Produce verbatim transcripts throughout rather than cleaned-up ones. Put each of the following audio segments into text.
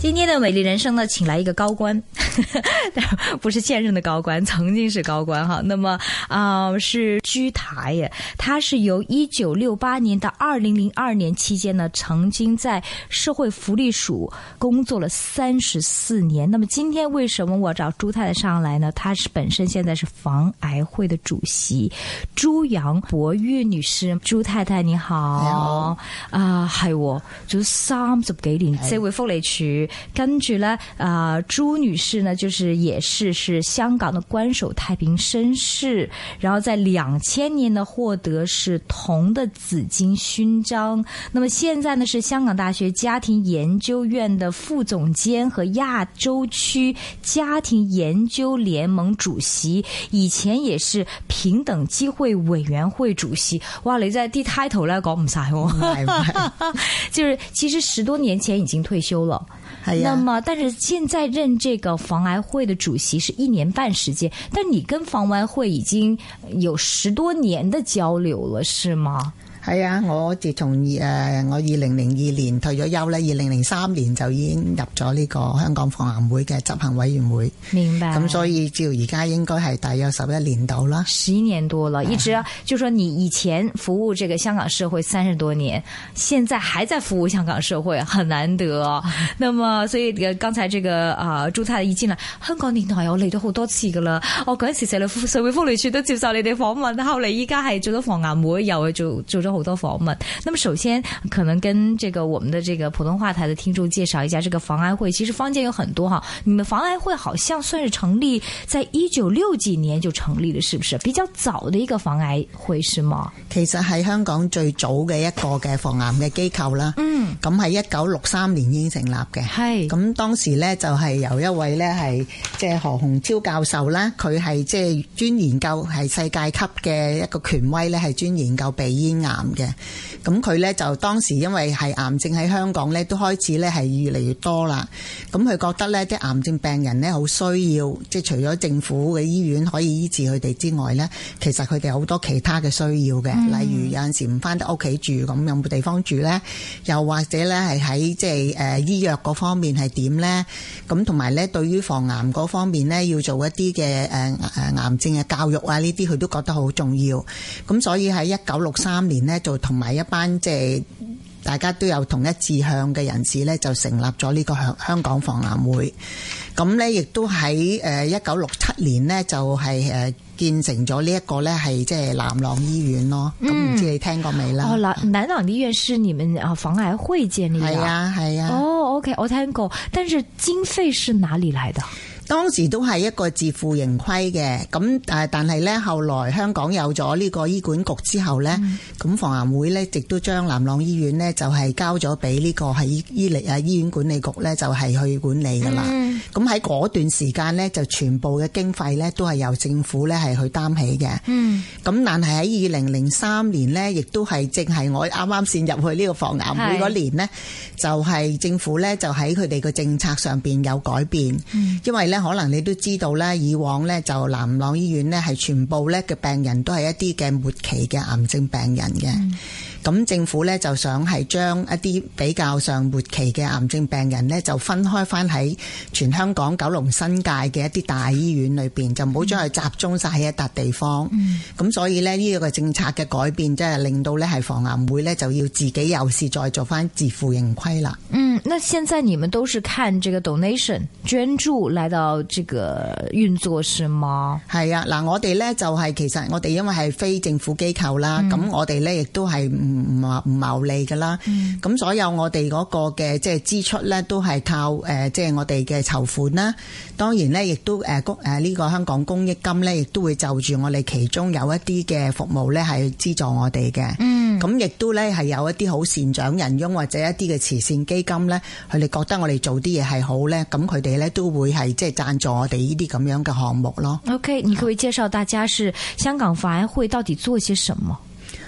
今天的美麗人生呢，請來一個高官，不是現任的高官，曾經是高官哈。那麼啊、呃，是居台耶，他是由一九六八年到二零零二年期間呢，曾經在社會福利署工作了三十四年。那麼今天為什麼我找朱太太上來呢？她是本身現在是防癌會的主席朱楊博玉女士。朱太太你好，你好啊，係、哦、做咗三十幾年社會福利署。跟住呢，啊、呃，朱女士呢，就是也是是香港的官守太平紳士，然後在兩千年呢獲得是銅的紫荊勳章。那麼現在呢是香港大學家庭研究院的副總監和亞洲區家庭研究聯盟主席，以前也是平等機會委員會主席。哇，你真係啲 title 咧講唔晒喎，就是其實十多年前已經退休了。係啊，那麼但是現在任這個防癌會的主席是一年半時間，但你跟防癌會已經有十多年的交流了，是嗎？ 係啊，我自從誒我二零零二年退咗休咧，二零零三年就已經入咗呢個香港防癌會嘅執行委員會。明白。咁所以照而家應該係大約十一年到啦。 十一年多了，一直就說你以前服務這個香港社會三十多年，現在還在服務香港社會，很難得。那麼所以剛才這個啊、呃、朱太太一進來，香港電台我嚟咗好多次噶啦，我嗰陣時社會社會福利處都接受你哋訪問，後嚟依家係做咗防癌會，又去做做咗好多訪問。那麼首先可能跟這個我們的這個普通話台的聽眾介紹一下這個防癌會。其實坊間有很多哈，你們防癌會好像算是成立在一九六幾年就成立了，是不是比較早的一個防癌會是嗎？ 其實係香港最早嘅一個嘅防癌嘅機構啦。嗯，咁係一九六三年已經成立嘅。係，咁當時呢就係由一位呢係即係何鴻超教授啦，佢係即係專研究係世界級嘅一個權威呢，係專研究鼻咽癌嘅。咁佢咧就當時因為係癌症喺香港咧都開始咧係越嚟越多啦，咁佢覺得咧啲癌症病人咧好需要，即係除咗政府嘅醫院可以醫治佢哋之外咧，其實佢哋好多其他嘅需要嘅、嗯，例如有陣時唔翻得屋企住，咁有冇地方住咧？又或者咧係喺即係誒醫藥嗰方面係點咧？咁同埋咧對於防癌嗰方面咧要做一啲嘅誒誒癌症嘅教育啊，呢啲佢都覺得好重要。咁所以喺一九六三年咧就同埋一班即係大家都有同一志向嘅人士咧，就成立咗呢個香香港防癌會。咁咧亦都喺誒一九六七年咧就係誒建成咗呢一個咧係即係南朗醫院咯。咁、嗯、唔知你聽過未啦？哦，南南朗醫院是你們啊防癌會建立的？係啊係啊。哦 ，OK， 我聽過，但是經費是哪裡來的？當時都係一個自負盈虧嘅，咁誒，但係咧後來香港有咗呢個醫管局之後咧，咁、嗯、防癌會咧亦都將南朗醫院咧就係交咗俾呢個係醫醫力啊醫院管理局咧就係去管理噶啦。咁喺嗰段時間咧就全部嘅經費咧都係由政府咧係去擔起嘅。嗯，咁但係喺二零零三年咧，亦都係正係我啱啱先入去呢個防癌會嗰年咧，就係、是、政府咧就喺佢哋嘅政策上邊有改變，嗯、因為咧。可能你都知道咧，以往咧就南朗醫院咧係全部咧嘅病人都係一啲嘅末期嘅癌症病人嘅。咁、嗯、政府咧就想係將一啲比較上末期嘅癌症病人咧就分開翻喺全香港九龍新界嘅一啲大醫院裏邊，就唔好將佢集中晒喺一笪地方。咁、嗯、所以咧呢個政策嘅改變，即係令到咧係防癌會咧就要自己又是再做翻自負盈虧啦。嗯，那現在你們都是看這個 donation 捐助來到這個運作是嗎？係啊，嗱，我哋咧就係其實我哋因為係非政府機構啦，咁、嗯、我哋咧亦都係唔唔唔牟利噶啦，咁、嗯、所有我哋嗰個嘅即係支出咧都係靠誒即係我哋嘅籌款啦。當然咧亦都誒公誒呢個香港公益金咧亦都會就住我哋其中有一啲嘅服務咧係資助我哋嘅。嗯，咁亦都咧係有一啲好善長仁翁或者一啲嘅慈善基金咧，佢哋覺得我哋做啲嘢係好咧，咁佢哋咧都會係即係贊助我哋呢啲咁樣嘅項目咯。OK， 你可唔可以介紹大家是香港防癌會到底做些什麼？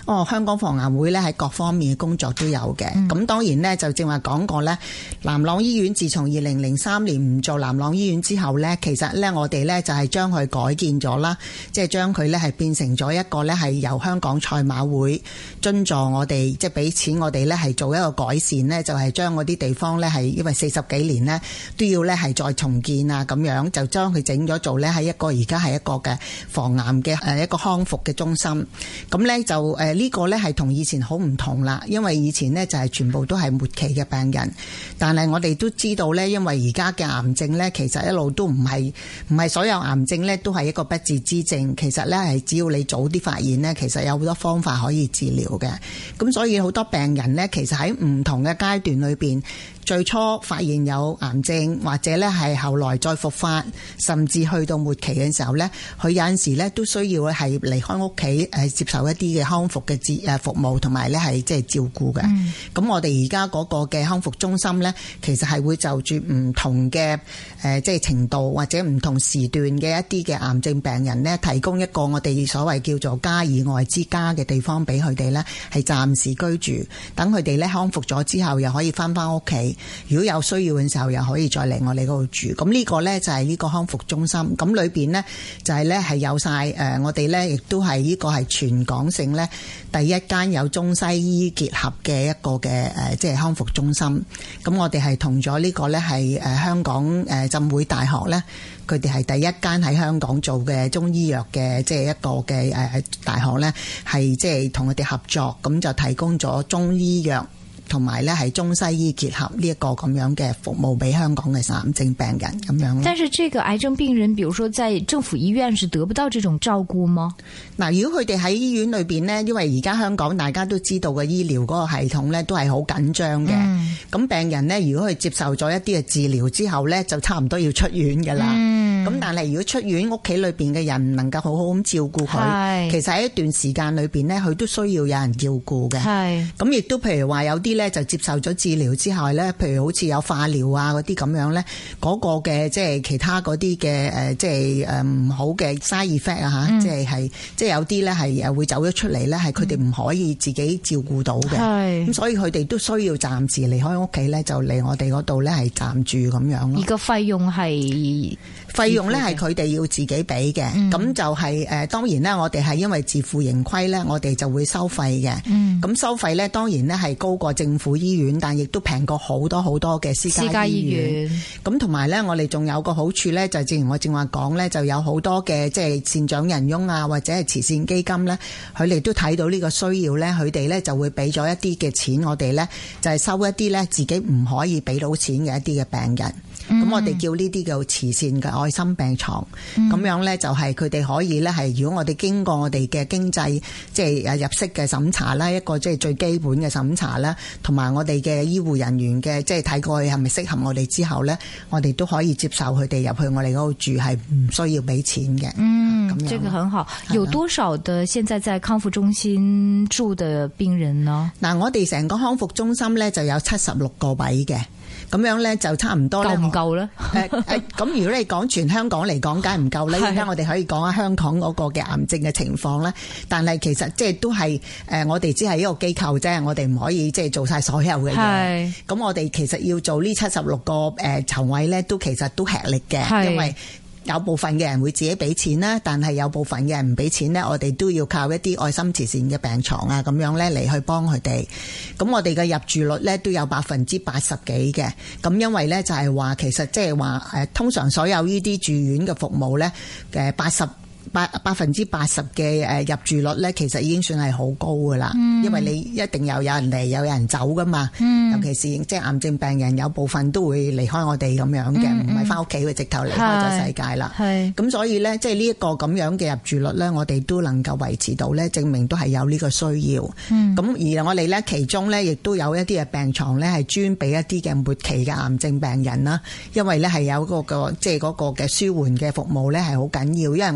哦，香港防癌會咧喺各方面嘅工作都有嘅。咁、嗯、當然咧就正話講過咧，南朗醫院自從二零零三年唔做南朗醫院之後咧，其實咧我哋咧就係將佢改建咗啦，即係將佢咧係變成咗一個咧係由香港賽馬會津助我哋，即係俾錢我哋咧係做一個改善咧，就係將嗰啲地方咧係因為四十幾年咧都要咧係再重建啊，咁樣就將佢整咗做咧係一個而家係一個嘅防癌嘅誒一個康復嘅中心。咁咧就誒呢個咧係同以前好唔同啦，因為以前咧就係全部都係末期嘅病人，但係我哋都知道咧，因為而家嘅癌症咧其實一路都唔係唔係所有癌症咧都係一個不治之症，其實咧係只要你早啲發現咧，其實有好多方法可以治療嘅。咁所以好多病人咧，其實喺唔同嘅階段裏邊，最初發現有癌症，或者咧係後來再復發，甚至去到末期嘅時候咧，佢有陣時咧都需要係離開屋企誒接受一啲嘅康復嘅治誒服務，同埋咧係即係照顧嘅。咁、嗯、我哋而家嗰個嘅康復中心咧，其實係會就住唔同嘅誒即係程度或者唔同時段嘅一啲嘅癌症病人咧，提供一個我哋所謂叫做家以外之家嘅地方俾佢哋咧，係暫時居住，等佢哋咧康復咗之後又可以翻翻屋企。如果有需要嘅時候，又可以再嚟我哋嗰度住。咁呢個呢，就係呢個康復中心。咁裏邊呢，就係呢係有晒誒，我哋呢亦都係呢個係全港性呢第一間有中西醫結合嘅一個嘅誒，即係康復中心。咁我哋係同咗呢個呢係誒香港誒浸會大學呢，佢哋係第一間喺香港做嘅中醫藥嘅即係一個嘅誒大學呢，係即係同佢哋合作，咁就提供咗中醫藥同埋咧係中西醫結合呢一個咁樣嘅服務俾香港嘅癌症病人咁樣。 但是這個癌症病人，比如說在政府醫院是得不到這種照顧嗎？ 嗱，如果佢哋喺醫院裏邊呢，因為而家香港大家都知道嘅醫療嗰個系統呢都係好緊張嘅。咁、嗯、病人呢，如果佢接受咗一啲嘅治療之後呢，就差唔多要出院噶啦。咁、嗯、但係如果出院屋企裏邊嘅人唔能夠好好咁照顧佢，其實喺一段時間裏邊呢，佢都需要有人照顧嘅。係咁亦都譬如話有啲咧就接受咗治療之後咧，譬如好似有化療啊嗰啲咁樣咧，嗰、嗰個嘅即係其他嗰啲嘅誒即係誒唔好嘅 side effect 啊吓，即係係即係有啲咧係誒會走咗出嚟咧，係佢哋唔可以自己照顧到嘅。係咁，所以佢哋都需要暫時離開屋企咧，就嚟我哋嗰度咧係暫住咁樣咯。而個費用係？費用咧係佢哋要自己俾嘅，咁、嗯、就係、是、誒當然啦，我哋係因為自負盈虧咧，我哋就會收費嘅。咁、嗯、收費咧當然咧係高過政府醫院，但亦都平過好多好多嘅私家醫院。咁同埋咧，我哋仲有個好處咧，就正如我正話講咧，就有好多嘅即係善長仁翁啊，或者係慈善基金咧，佢哋都睇到呢個需要咧，佢哋咧就會俾咗一啲嘅錢，我哋咧就係收一啲咧自己唔可以俾到錢嘅一啲嘅病人。咁、嗯、我哋叫呢啲叫慈善嘅愛心病床，咁、嗯、樣咧就係佢哋可以咧係，如果我哋經過我哋嘅經濟即係誒入息嘅審查啦，一個即係最基本嘅審查啦，同埋我哋嘅醫護人員嘅即係睇過去係咪適合我哋之後咧，我哋都可以接受佢哋入去我哋嗰度住，係唔需要俾錢嘅。嗯，咁樣這個很好。有多少的現在在康復中心住的病人呢？嗱，我哋成個康復中心咧就有七十六個位嘅。咁樣咧就差唔多咧，夠唔夠咧？誒誒，咁如果你講全香港嚟講，梗係唔夠咧。而家我哋可以講下香港嗰個嘅癌症嘅情況咧。但係其實即係都係誒，我哋只係一個機構啫，我哋唔可以即係做晒所有嘅嘢。咁我哋其實要做呢七十六個誒床位咧，都其實都吃力嘅，因為有部分嘅人會自己俾錢啦，但係有部分嘅人唔俾錢咧，我哋都要靠一啲愛心慈善嘅病床啊，咁樣咧嚟去幫佢哋。咁我哋嘅入住率咧都有百分之八十幾嘅。咁因為咧就係話其實即係話誒，通常所有呢啲住院嘅服務咧嘅八十。百百分之八十嘅誒入住率咧，其實已經算係好高噶啦、嗯。因為你一定有有人嚟，有人走噶嘛、嗯。尤其是即係癌症病人，有部分都會離開我哋咁樣嘅，唔係翻屋企，佢直頭離開咗世界啦。係咁，所以咧，即係呢一個咁樣嘅入住率咧，我哋都能夠維持到咧，證明都係有呢個需要。咁、嗯、而我哋咧，其中咧亦都有一啲嘅病床咧，係專俾一啲嘅末期嘅癌症病人啦。因為咧係有嗰個即係嗰個嘅舒緩嘅服務咧係好緊要，因為我哋好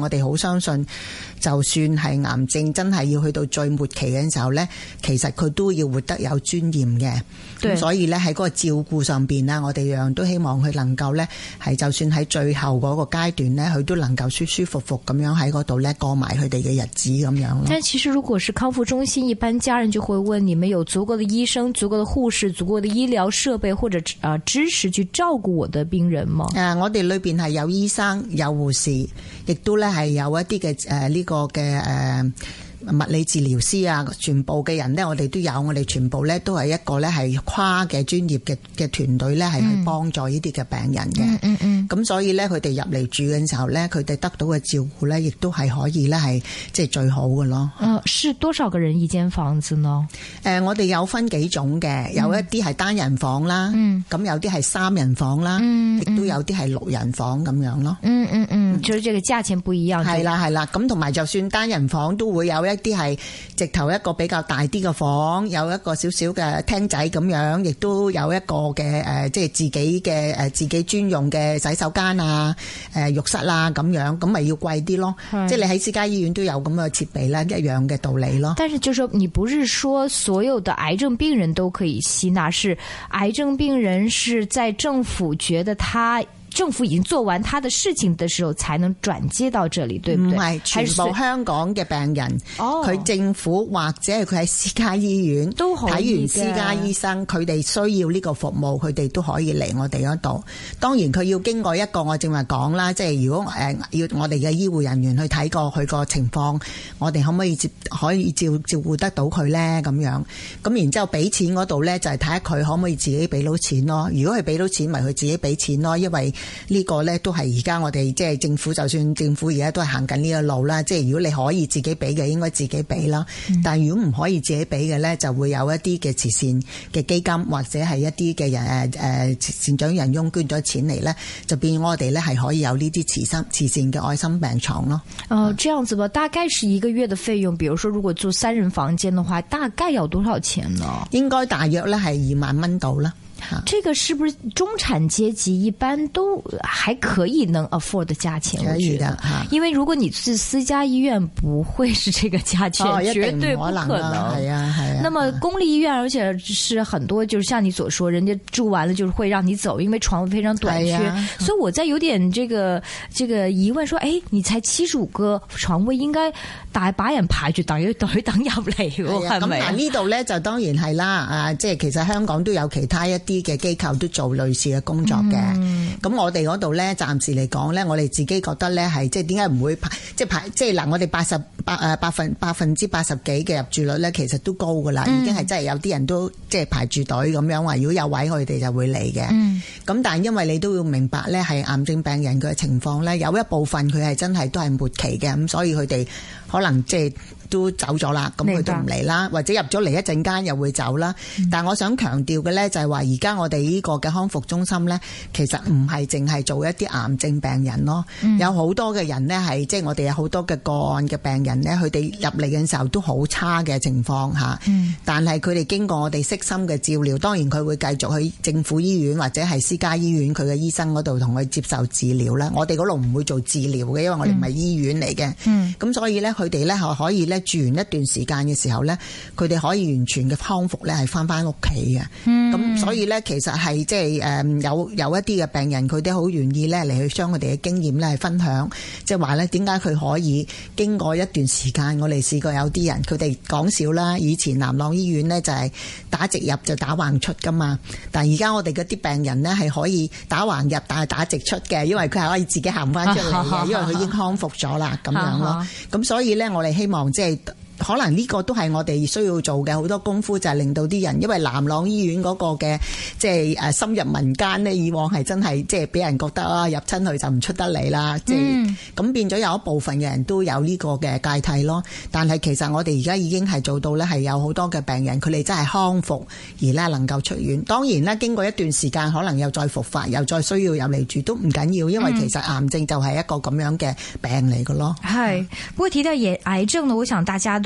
相信就算係癌症真係要去到最末期嘅時候咧，其實佢都要活得有尊嚴嘅。咁所以咧喺嗰個照顧上邊啦，我哋樣樣都希望佢能夠咧係就算喺最後嗰個階段咧，佢都能夠舒舒服服咁樣喺嗰度咧過埋佢哋嘅日子咁樣咯。 但其實如果是康復中心，一般家人就會問：你們有足夠的醫生、足夠的護士、足夠的醫療設備或者啊知識去照顧我的病人嗎？ 誒、呃，我哋裏邊係有醫生、有護士，亦都咧係有一啲嘅誒呢個嘅誒。呃物理治療師啊，全部嘅人呢，我哋都有，我哋全部呢都係一個呢係跨嘅專業嘅嘅團隊呢，係去幫助呢啲嘅病人嘅。嗯嗯嗯。咁所以呢，佢哋入嚟住嘅時候呢，佢哋得到嘅照顧呢，亦都係可以呢係即係最好嘅咯。 嗯，是多少個人一間房子呢？ 誒、呃，我哋有分幾種嘅，有一啲係單人房啦，嗯，咁有啲係三人房啦，嗯，亦都有啲係六人房咁樣咯。嗯嗯嗯， 就是這個價錢不一樣。 係啦係啦，咁同埋就算單人房都會有一啲係直頭一個比較大啲嘅房，有一個少少嘅廳仔咁樣，亦都有一個嘅誒，即係自己嘅誒自己專用嘅洗手間啊、誒浴室啦咁樣，咁咪要貴啲咯。即係你喺私家醫院都有咁嘅設備啦，一樣嘅道理咯。 但是就是說，你不是說所有的癌症病人都可以吸納，是癌症病人是在政府覺得他。政府已經做完他的事情的時候，才能轉接到這裡，對不對？ 唔係全部香港嘅病人，佢、哦、政府或者係佢喺私家醫院都睇完私家醫生，佢哋需要呢個服務，佢哋都可以嚟我哋嗰度。當然佢要經過一個我正話講啦，即係如果誒要我哋嘅醫護人員去睇過佢個情況，我哋可唔可以接可以照照顧得到佢咧？咁樣咁然之後俾錢嗰度咧，就係睇下佢可唔可以自己俾到錢咯。如果佢俾到錢，咪佢自己俾錢咯，因為呢個呢都係而家我哋即係政府，就算政府而家都係行緊呢個路啦。即係如果你可以自己俾嘅，應該自己俾啦。嗯、但係如果唔可以自己俾嘅呢，就會有一啲嘅慈善嘅基金或者係一啲嘅人誒誒善長仁翁捐咗錢嚟呢，就變我哋呢係可以有呢啲慈心慈善嘅愛心病床咯。 哦，這樣子吧，大概是一個月的費用。比如說，如果住三人房間的話，大概要多少錢呢？ 應該大約呢係二萬蚊到啦。 這個是不是中產階級一般都還可以能 afford 的價錢？ 可以的， 因為如果你是私家醫院，不會是這個價錢， 哦、 絕對不可能。 係啊係啊。 那麼公立醫院，而且是很多，就是像你所說，人家住完了就是會讓你走，因為床位非常短缺。所以我在有點這個這個疑問，說，誒，你才七十五個床位，應該大把人排住隊隊等入嚟，係咪？ 咁嗱呢度咧就當然係啦，啊，即係其實香港都有其他一啲嘅機構都做類似嘅工作嘅，咁、嗯、我哋嗰度咧，暫時嚟講咧，我哋自己覺得咧係即係點解唔會排，即係排，即係嗱，我哋八十八誒百分百分之八十幾嘅入住率咧，其實都高噶啦，嗯、已經係真係有啲人都即係排住隊咁樣話，如果有位佢哋就會嚟嘅。咁、嗯、但係因為你都要明白咧，係癌症病人佢嘅情況咧，有一部分佢係真係都係末期嘅，咁所以佢哋可能即係。都走咗啦，咁佢都唔嚟啦，或者入咗嚟一陣間又會走啦。嗯、但係我想強調嘅呢，就係話而家我哋呢個嘅康復中心呢，其實唔係淨係做一啲癌症病人咯，嗯、有好多嘅人呢，係即係我哋有好多嘅個案嘅病人呢，佢哋入嚟嘅時候都好差嘅情況下，嗯、但係佢哋經過我哋悉心嘅照料，當然佢會繼續去政府醫院或者係私家醫院佢嘅醫生嗰度同佢接受治療啦。我哋嗰度唔會做治療嘅，因為我哋唔係醫院嚟嘅。咁、嗯嗯、所以呢，佢哋呢可以呢。住完一段時間嘅時候呢，佢哋可以完全嘅康復呢，係翻翻屋企嘅。咁、嗯、所以呢，其實係即係誒有有一啲嘅病人，佢哋好願意呢嚟去將佢哋嘅經驗呢係分享，即係話呢點解佢可以經過一段時間，我哋試過有啲人佢哋講笑啦，以前南朗醫院呢就係打直入就打橫出噶嘛，但係而家我哋嗰啲病人呢係可以打橫入，但係打直出嘅，因為佢係可以自己行翻出嚟嘅，因為佢已經康復咗啦，咁樣咯。咁所以呢，我哋希望即係。可能呢個都係我哋需要做嘅好多功夫，就係令到啲人，因為南朗醫院嗰個嘅即係誒深入民間呢，以往係真係即係俾人覺得啊入親去就唔出得嚟啦，即係咁變咗有一部分嘅人都有呢個嘅芥蒂咯。但係其實我哋而家已經係做到呢，係有好多嘅病人佢哋真係康復而呢能夠出院。當然啦，經過一段時間可能又再復發，又再需要入嚟住都唔緊要，因為其實癌症就係一個咁樣嘅病嚟嘅咯。係、 嗯，不過提到也癌症呢，我想大家都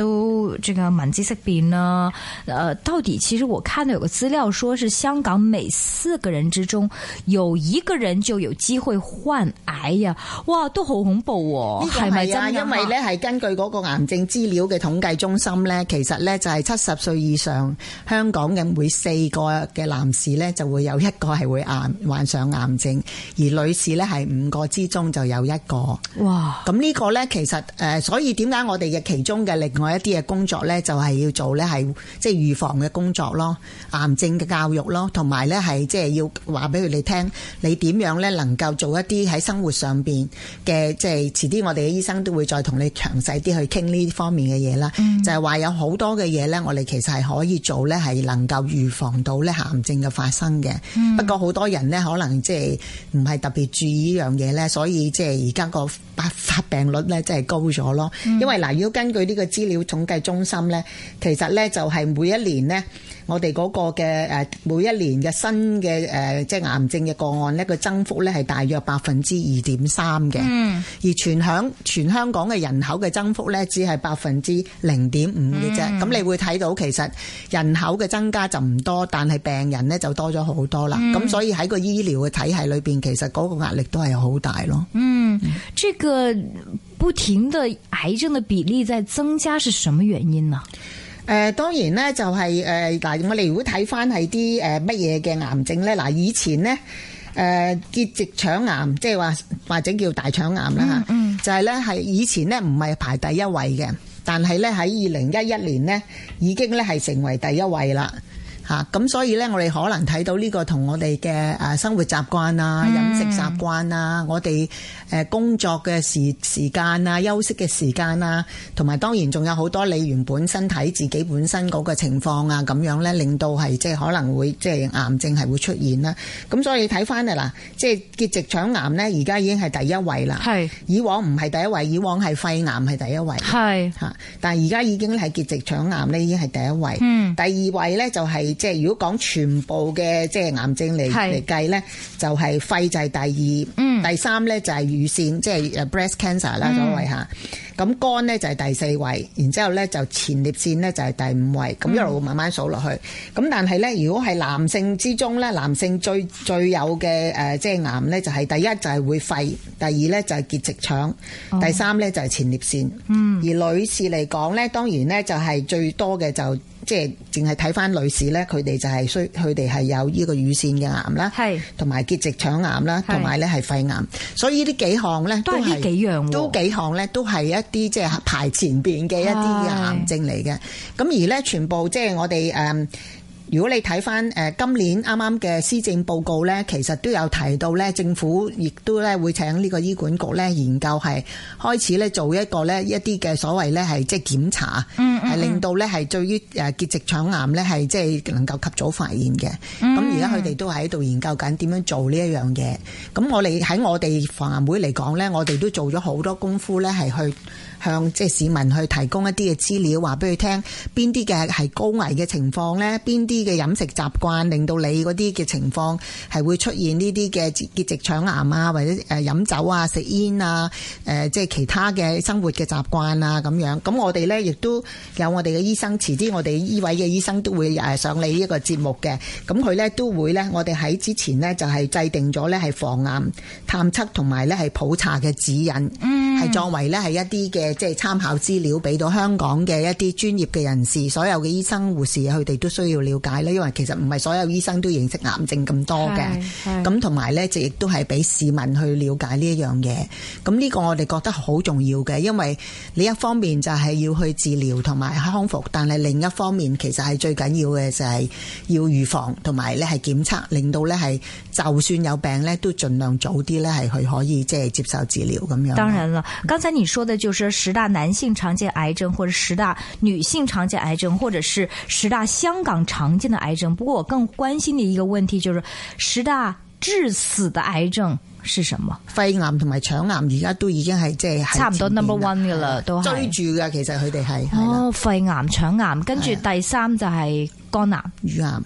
都這個聞之色變啦。呃，到底其實我看到有個資料說是香港每四個人之中有一個人就有機會患癌呀！哇，都好恐怖喎！係咪真？ 因為咧係根據嗰個癌症資料嘅統計中心咧，其實咧就係七十歲以上香港嘅每四個嘅男士咧就會有一個係會癌患上癌症，而女士咧係五個之中就有一個。哇！咁呢個咧其實誒，所以點解我哋嘅其中嘅另外一啲嘅工作咧，就係要做咧係即係預防嘅工作咯，癌症嘅教育咯，同埋咧係即係要話俾佢哋聽，你點樣咧能夠做一啲喺生活上邊嘅，即係遲啲我哋嘅醫生都會再同你詳細啲去傾呢方面嘅嘢啦。嗯、就係話有好多嘅嘢咧，我哋其實係可以做咧，係能夠預防到咧癌症嘅發生嘅。嗯、不過好多人咧可能即係唔係特別注意呢樣嘢咧，所以即係而家個發發病率咧真係高咗咯。嗯、因為嗱，如果根據呢個資料統計中心咧，其實咧就係每一年咧，我哋嗰個嘅誒每一年嘅新嘅誒即係癌症嘅個案咧，個增幅咧係大約百分之二點三嘅。嗯，而全香全香港嘅人口嘅增幅咧，只係百分之零點五嘅啫。咁、嗯、你會睇到其實人口嘅增加就唔多，但係病人咧就多咗好多啦。咁、嗯、所以喺個醫療嘅體系裏邊，其實嗰個壓力都係好大咯。嗯， 這個不停的癌症的比例在增加，是什麼原因呢？ 誒、呃、當然咧就係誒嗱，我哋如果睇翻係啲誒乜嘢嘅癌症咧，嗱以前咧誒結直腸癌，即係話或者叫大腸癌啦嚇，嗯嗯、就係咧係以前咧唔係排第一位嘅，但係咧喺二零一一年咧已經咧係成為第一位啦。嚇咁所以咧，我哋可能睇到呢個同我哋嘅誒生活習慣啊、嗯、飲食習慣啊、我哋誒工作嘅時時間啊、休息嘅時間啊，同埋當然仲有好多你原本身體自己本身嗰個情況啊，咁樣咧令到係即係可能會即係癌症係會出現啦。咁所以睇翻啊嗱，即係結直腸癌咧，而家已經係第一位啦。係是以往唔係第一位，以往係肺癌係第一位。係嚇是，但係而家已經係結直腸癌咧，已經係第一位。嗯，第二位咧就係、是。即係如果講全部嘅即係癌症嚟嚟計咧，就係肺就係第二，嗯、第三咧就係乳腺，即係誒 breast cancer 啦，所謂嚇。咁肝咧就係第四位，然之後咧就前列腺咧就係第五位，咁、嗯、一路慢慢數落去。咁但係咧，如果係男性之中咧，男性最最有嘅誒即係癌咧，就係第一就係會肺，第二咧就係結直腸，哦、第三咧就係前列腺。嗯，而女士嚟講咧，當然咧就係最多嘅就。即係淨係睇翻女士咧，佢哋就係需佢哋係有呢個乳腺嘅癌啦，係同埋結直腸癌啦，同埋咧係肺癌。所以呢幾項咧都係呢幾樣，都幾項咧都係一啲即係排前邊嘅一啲嘅癌症嚟嘅。咁而咧全部即係我哋誒。如果你睇翻誒今年啱啱嘅施政報告咧，其實都有提到咧，政府亦都咧會請呢個醫管局咧研究係開始咧做一個咧一啲嘅所謂咧係即係檢查，係、嗯嗯嗯、令到咧係對於誒結直腸癌咧係即係能夠及早發現嘅。咁而家佢哋都喺度研究緊點樣做呢一樣嘢。咁我哋喺我哋防癌會嚟講咧，我哋都做咗好多功夫咧，係去向即係市民去提供一啲嘅資料，話俾佢聽邊啲嘅係高危嘅情況咧，邊啲嘅飲食習慣令到你嗰啲嘅情況係會出現呢啲嘅結直腸癌啊，或者誒飲酒啊、食煙啊、誒即係其他嘅生活嘅習慣啊咁樣。咁我哋咧亦都有我哋嘅醫生，遲啲我哋醫委嘅醫生都會誒上嚟呢一個節目嘅。咁佢咧都會咧，我哋喺之前呢就係制定咗咧係防癌探測同埋咧係普查嘅指引，係、嗯、作為咧係一啲嘅即係參考資料，俾到香港嘅一啲專業嘅人士，所有嘅醫生護士佢哋都需要了解咧，因為其實唔係所有醫生都認識癌症咁多嘅，咁同埋咧就亦都係俾市民去了解呢一樣嘢。咁呢個我哋覺得好重要嘅，因為你一方面就係要去治療同埋康復，但係另一方面其實係最緊要嘅就係要預防同埋咧係檢測，令到咧係就算有病咧都盡量早啲咧係去可以即係接受治療咁樣。當然啦，剛才你說的就是十大男性常見癌症，或者十大女性常見癌症，或者是十大香港常見的癌症。不過我更關心的一個問題就是十大致死的癌症是什麼？肺癌同埋腸癌而家都已經係即係差唔多 number one 噶啦，都追住噶。其實佢哋係哦，肺癌、腸癌，跟住第三就係肝癌、乳癌。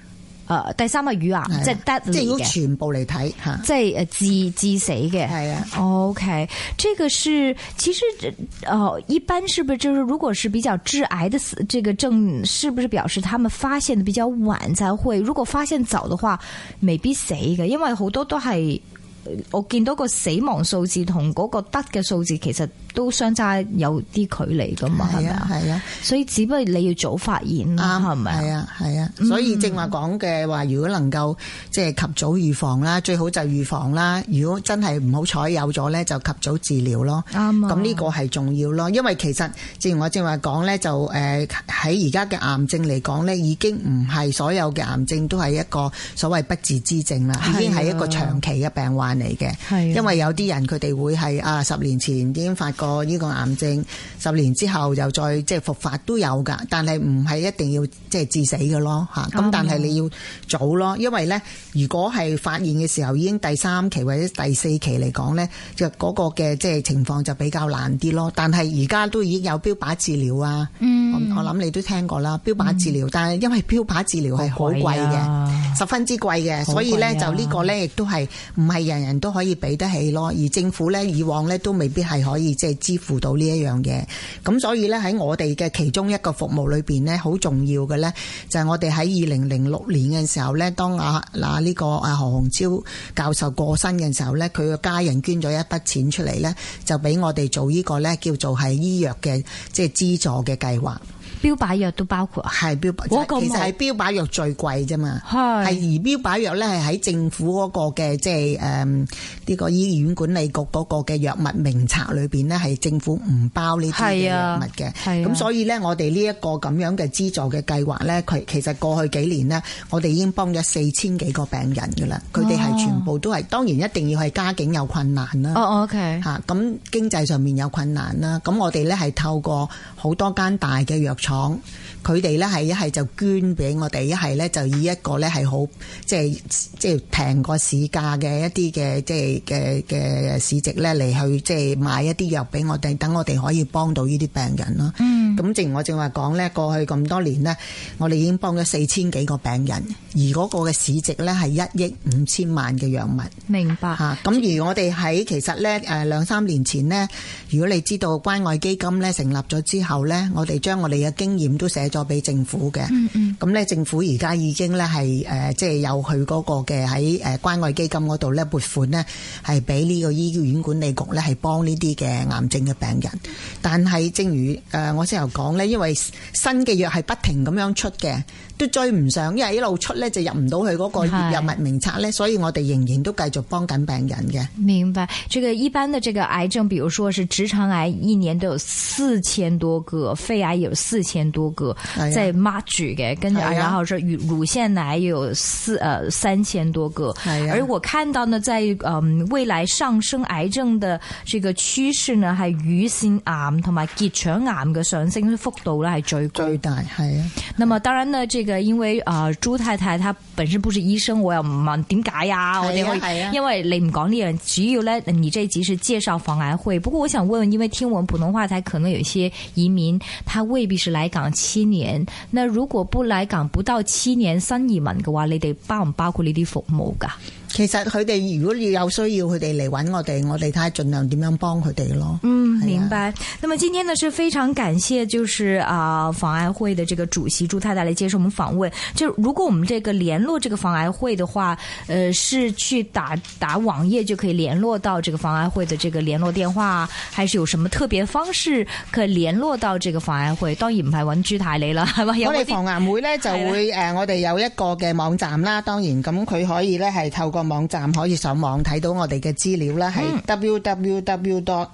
誒第三係乳癌，即係 deadly 嘅， 即係如果全部嚟睇嚇， 即係誒致致死嘅。 係啊 ，OK，這個是其實呃一般是不是就是如果是比較致癌的死這個症，是不是表示他們發現的比較晚才會？如果發現早的話，未必死嘅，因為好多都係我見到個死亡數字同嗰個得嘅數字其實都相差有啲距離噶嘛，係咪啊？係啊，所以只不過你要早發現啦，係咪？ 係啊，係啊，所以正話講嘅話，如果能夠即係及早預防啦，最好就預防啦。如果真係唔好彩有咗咧，就及早治療咯。啱啊，咁呢個係重要咯，因為其實正如我正話講咧，就誒喺而家嘅癌症嚟講咧，已經唔係所有嘅癌症都係一個所謂不治之症啦，已經係一個長期嘅病患嚟嘅。係，因為有啲人佢哋會係啊十年前已經發覺呢個癌症，十年之後又再即係復發都有噶，但係唔係一定要即係致死嘅咯吓。咁但係你要早咯，因為咧如果係發現嘅時候已經第三期或者第四期嚟講咧，就嗰個嘅即係情況就比較難啲咯。但係而家都已經有標靶治療啊，嗯、我我諗你都聽過啦，標靶治療，嗯、但係因為標靶治療係好貴嘅，啊、十分之貴嘅，所以咧、啊、就呢個咧亦都係唔係人人都可以俾得起咯。而政府咧以往咧都未必係可以即係支付到呢一樣嘢。咁所以咧喺我哋嘅其中一個服務裏邊咧，好重要嘅咧就係我哋喺二零零六年嘅時候咧，當阿嗱呢個阿何鴻超教授過身嘅時候咧，佢嘅家人捐咗一筆錢出嚟咧，就俾我哋做呢個咧叫做係醫藥嘅即係資助嘅計劃。 標靶藥都包括，係標靶，其實係標靶藥最貴啫嘛，係而標靶藥咧係喺政府嗰個嘅即係誒呢個醫院管理局嗰個嘅藥物名冊裏邊咧，係政府唔包呢啲嘅藥物嘅，咁、啊、所以咧我哋呢一個咁樣嘅資助嘅計劃咧，佢其實過去幾年呢，我哋已經幫咗四千幾個病人噶啦，佢哋係全部都係，當然一定要係家境有困難啦，哦 OK 吓，咁經濟上面有困難啦，咁我哋咧係透過好多間大嘅藥廠。佢哋咧係一係就捐俾我哋，一係咧就以一個咧係好即係即係平過市價嘅一啲嘅即係嘅嘅市值咧嚟去即係買一啲藥俾我哋，等我哋可以幫到呢啲病人咯。嗯，咁正如我正話講咧，過去咁多年咧，我哋已經幫咗四千幾個病人，而嗰個嘅市值咧係一億五千萬嘅藥物。明白吓。咁、啊、而我哋喺其實咧誒兩三年前呢，如果你知道關愛基金咧成立咗之後咧，我哋將我哋嘅經驗都寫咗俾政府嘅，咁咧、嗯嗯、政府而家已經咧係誒即係有佢嗰個嘅喺誒關愛基金嗰度咧撥款咧係俾呢個醫院管理局咧係幫呢啲嘅癌症嘅病人。但係正如誒我先頭講咧，因為新嘅藥係不停咁樣出嘅，都追唔上，因為一路出咧就入唔到佢嗰個藥物名冊咧，所以我哋仍然都繼續幫緊病人嘅。明白。這個一般的這個癌症，比如說是直腸癌，一年都有四千多個，肺癌有四千多個，即係 mark 住嘅，跟住然後是乳乳腺癌有四呃三千多個，而我看到呢，在嗯未來上升癌症的這個趨勢呢，係乳腺癌同埋結腸癌嘅上升幅度呢係最最大，係啊。那麼當然呢，這個因為啊、呃、朱太太她本身不是醫生，我又唔問點解啊，我哋可以，因為你唔講呢樣，主要呢你這一集是介紹防癌會。不過我想問問，因為聽我們普通話台可能有一些移民，他未必是來港七年，那如果不來港不到七年新移民嘅話，你哋包唔包括呢啲服務噶？其實佢哋如果要有需要，佢哋嚟揾我哋，我哋睇下盡量點樣幫佢哋咯。嗯，明白。那麼今天呢是非常感謝，就是啊、呃、防癌會的這個主席朱太太來接受我們訪問。就如果我們這個聯絡這個防癌會的話，呃，是去打打網頁就可以聯絡到這個防癌會的這個聯絡電話，還是有什麼特別方式可以聯絡到這個防癌會？當然唔係揾朱太你啦，係咪？我哋防癌會呢就會誒、呃，我哋有一個嘅網站啦，當然咁佢可以呢係透過網站可以上網睇到我哋嘅資料啦，係 w w w dot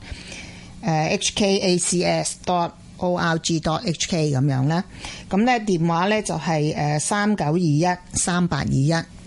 h k a c s dot org dot h k 咁樣啦。咁咧電話咧就係誒三九二一三八二一。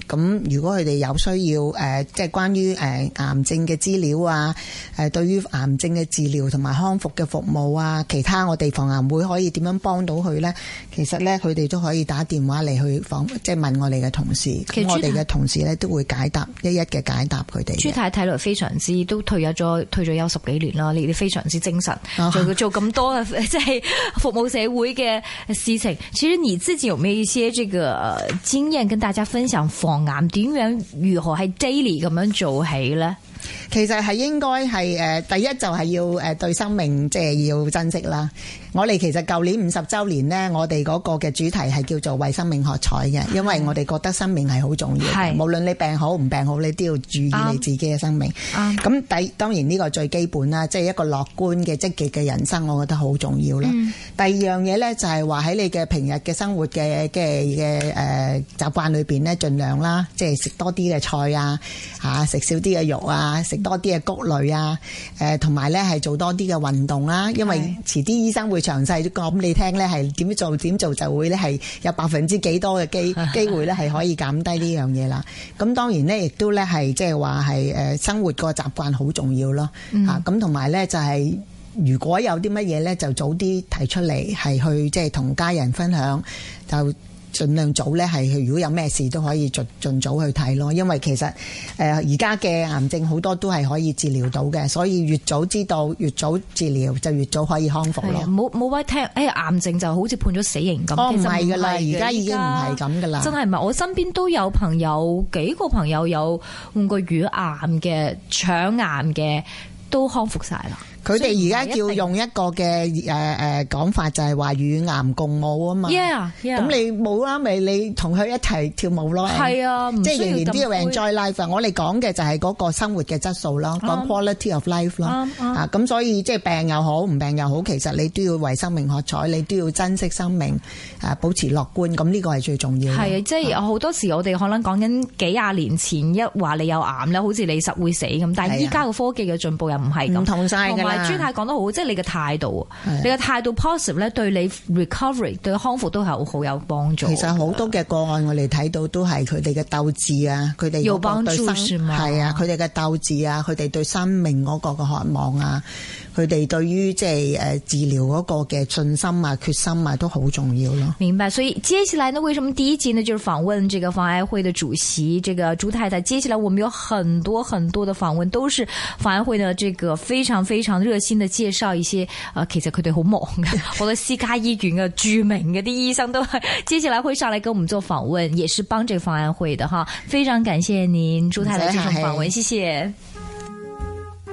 咁如果佢哋有需要誒，即係關於誒癌症嘅資料啊，誒對於癌症嘅治療同埋康復嘅服務啊，其他我哋防癌會可以點樣幫到佢咧？其實咧，佢哋都可以打電話嚟去訪，即係問我哋嘅同事，咁我哋嘅同事咧都會解答，一一嘅解答佢哋。 朱太睇來非常之都退咗咗，退咗休十幾年啦，你哋非常之精神，哦、做做咁多嘅即係服務社會嘅事情。其實你自己有冇一些這個經驗跟大家分享防癌點樣如何係 daily 咁樣做起咧？ 其實係應該係誒，第一就係要誒對生命即係要珍惜啦。我哋其實舊年五十週年呢，我哋嗰個嘅主題係叫做為生命喝彩嘅，因為我哋覺得生命係好重要嘅，無論你病好唔病好，你都要注意你自己嘅生命。咁第當然呢個最基本啦，即係一個樂觀嘅積極嘅人生，我覺得好重要啦。嗯、第二樣嘢呢，就係話喺你嘅平日嘅生活嘅嘅嘅誒習慣裏邊呢，盡量啦，即係食多啲嘅菜啊，嚇食少啲嘅肉啊，食多啲嘅穀類啊，誒同埋咧係做多啲嘅運動啦，因為遲啲醫生會詳細講你聽咧，係點做點做就會咧係有百分之幾多嘅機機會咧係可以減低呢樣嘢啦。咁當然咧亦都咧係即係話係誒生活個習慣好重要咯，嚇咁同埋咧就係如果有啲乜嘢咧就早啲提出嚟，係去即係同家人分享就。盡量早咧，係如果有咩事都可以盡盡早去睇咯。因為其實誒而家嘅癌症好多都係可以治療到嘅，所以越早知道越早治療就越早可以康復咯。 冇冇話聽誒、哎、癌症就好似判咗死刑咁。 哦，唔係㗎啦，而家已經唔係咁㗎啦。真係唔係， 我身邊都有朋友幾個朋友有換過乳癌嘅、腸癌嘅，都康復晒啦。 佢哋而家叫用一個嘅誒誒講法，就係話與癌共舞啊嘛。 Yeah，咁、 yeah. 你冇啦，咪你同佢一齊跳舞咯。係啊，即係仍然都要 enjoy life。我哋講嘅就係嗰個生活嘅質素咯，講、um, quality of life 咯。Um, um. 啊，咁所以即係病又好，唔病又好，其實你都要為生命喝彩，你都要珍惜生命，啊，保持樂觀。咁呢個係最重要。係啊，即係好多時我哋可能講緊幾廿年前一話你有癌咧，好似你實會死咁。但係依家個科技嘅進步又唔係咁，唔同晒㗎啦。朱太講得好，即係你嘅態度，你嘅態度 positive 咧，對你 recovery 對康復都係好有幫助。其實好多嘅個案我哋睇到都係佢哋嘅鬥志啊，佢哋有幫助係啊，佢哋嘅鬥志啊，佢哋對生命嗰個嘅渴望啊，佢哋對於即係誒治療嗰個嘅信心啊、決心啊都好重要咯。明白，所以接下來呢，為什麼第一集呢就是訪問這個防癌會的主席這個朱太太？接下來我們有很多很多的訪問，都是防癌會的這個非常非常熱心的介紹一些，呃，其實佢哋好忙嘅，好多私家醫院嘅著名嘅啲醫生都接下來會上來跟我們做訪問，也是幫這個防癌會的哈。非常感謝您朱太太這場訪問，謝謝。